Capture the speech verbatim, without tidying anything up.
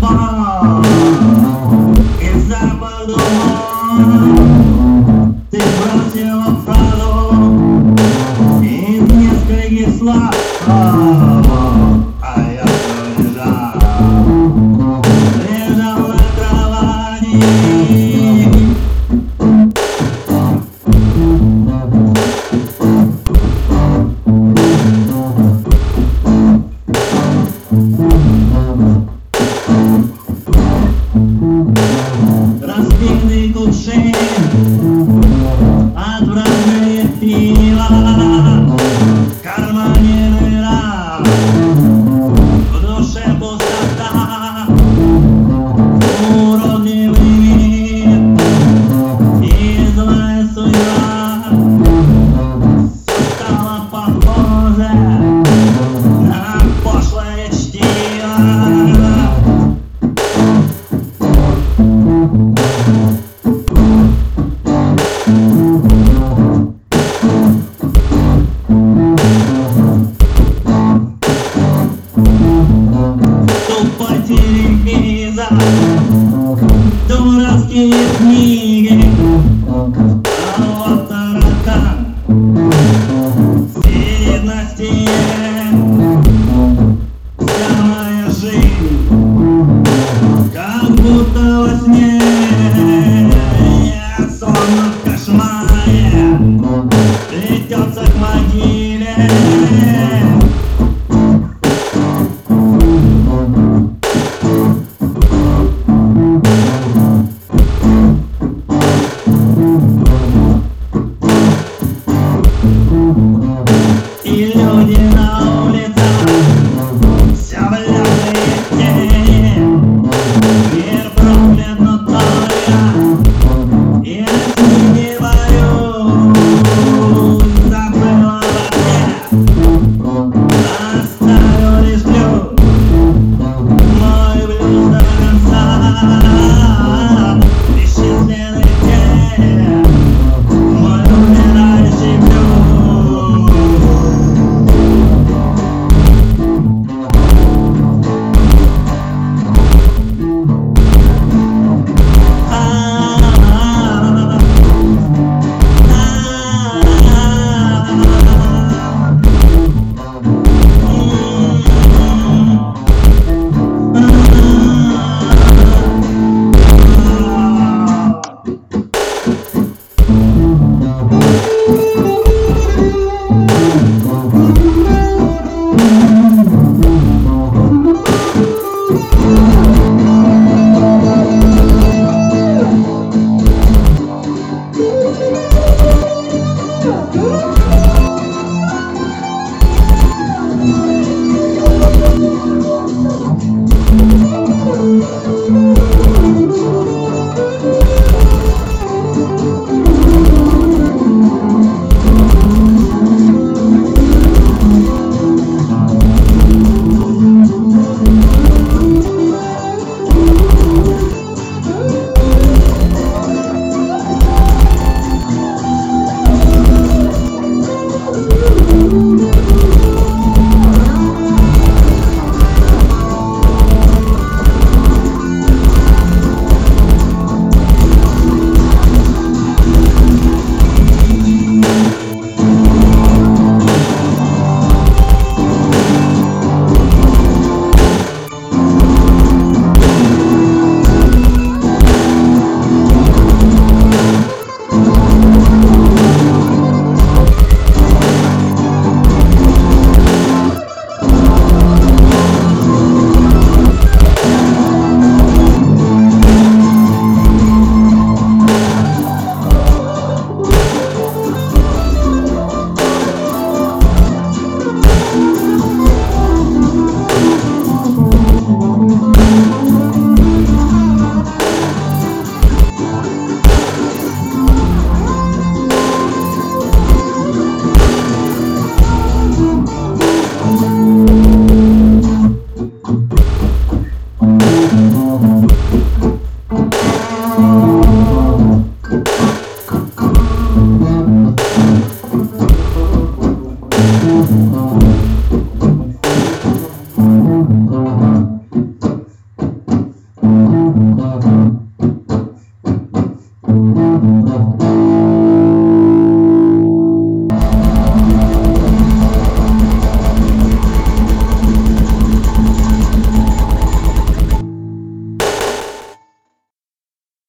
сон, и запах духов. Ты бросила фразу из нескольких слов, а я все лежал, лежал на кровати. Разбитый кувшин, отвратное пиво, в кармане дыра, в душе пустота, уродливый мир и злая судьба. Все стало похоже на пошлое чтиво. Тупо телевизор, дурацкие книги, а вот таракан сидит на стене. Вся моя жизнь как будто во сне, сонно в кошмаре плетется к могиле. И люди на улицах все бляшные тени. Мир проклят, но только я с ним не борюсь. Забыла во мне, оставил лишь блюз, мой блюз до конца.